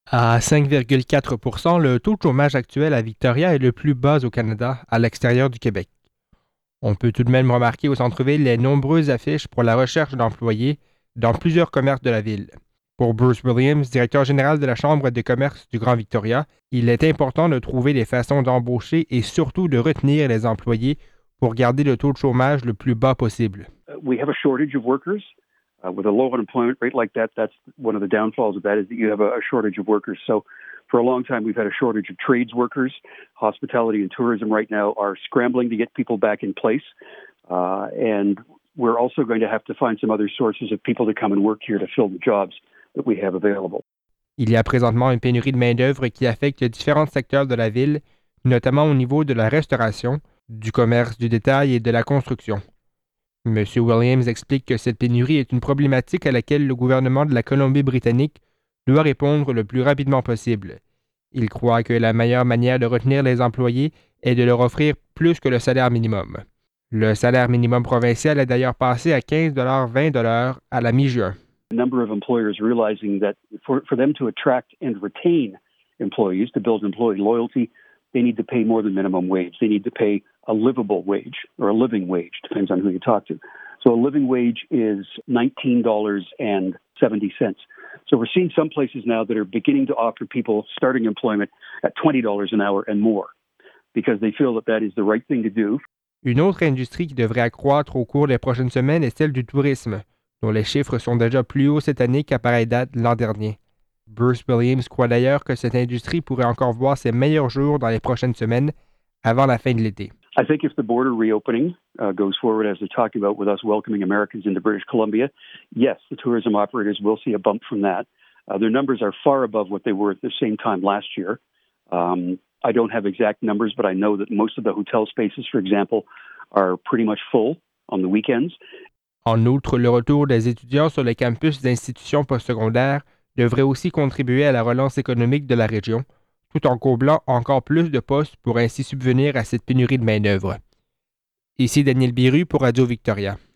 À 5,4 %, le taux de chômage actuel à Victoria est le plus bas au Canada, à l'extérieur du Québec. On peut tout de même remarquer au centre-ville les nombreuses affiches pour la recherche d'employés dans plusieurs commerces de la ville. Pour Bruce Williams, directeur général de la Chambre de commerce du Grand Victoria, il est important de trouver des façons d'embaucher et surtout de retenir les employés pour garder le taux de chômage le plus bas possible. We have a shortage of workers. With a low unemployment rate like that, that's one of the downfalls of that is that you have a shortage of workers. So for a long time, we've had a shortage of trades workers. Hospitality and tourism right now are scrambling to get people back in place. And we're also going to have to find some other sources of people to come and work here to fill the jobs that we have available. Il y a présentement une pénurie de main-d'œuvre qui affecte différents secteurs de la ville, notamment au niveau de la restauration, du commerce du détail et de la construction. M. Williams explique que cette pénurie est une problématique à laquelle le gouvernement de la Colombie-Britannique doit répondre le plus rapidement possible. Il croit que la meilleure manière de retenir les employés est de leur offrir plus que le salaire minimum. Le salaire minimum provincial est d'ailleurs passé à 15,20 $ à la mi-juin. A number of employers realizing that for them to attract and retain employees, to build employee loyalty, they need to pay more than minimum wage. They need to pay a livable wage or a living wage, depends on who you talk to. So a living wage is $19.70. So we're seeing some places now that are beginning to offer people starting employment at $20 an hour and more because they feel that that is the right thing to do. Une autre industrie qui devrait accroître au cours des prochaines semaines est celle du tourisme, dont les chiffres sont déjà plus hauts cette année qu'à pareille date l'an dernier. Bruce Williams croit d'ailleurs que cette industrie pourrait encore voir ses meilleurs jours dans les prochaines semaines, avant la fin de l'été. I think if the border reopening goes forward as they're talking about with us welcoming Americans into British Columbia, yes, the tourism operators will see a bump from that. Their numbers are far above what they were at the same time last year. I don't have exact numbers, but I know that most of the hotel spaces, for example, are pretty much full on the weekends. En outre, le retour des étudiants sur les campus d'institutions postsecondaires devrait aussi contribuer à la relance économique de la région, tout en comblant encore plus de postes pour ainsi subvenir à cette pénurie de main-d'œuvre. Ici Daniel Biru pour Radio Victoria.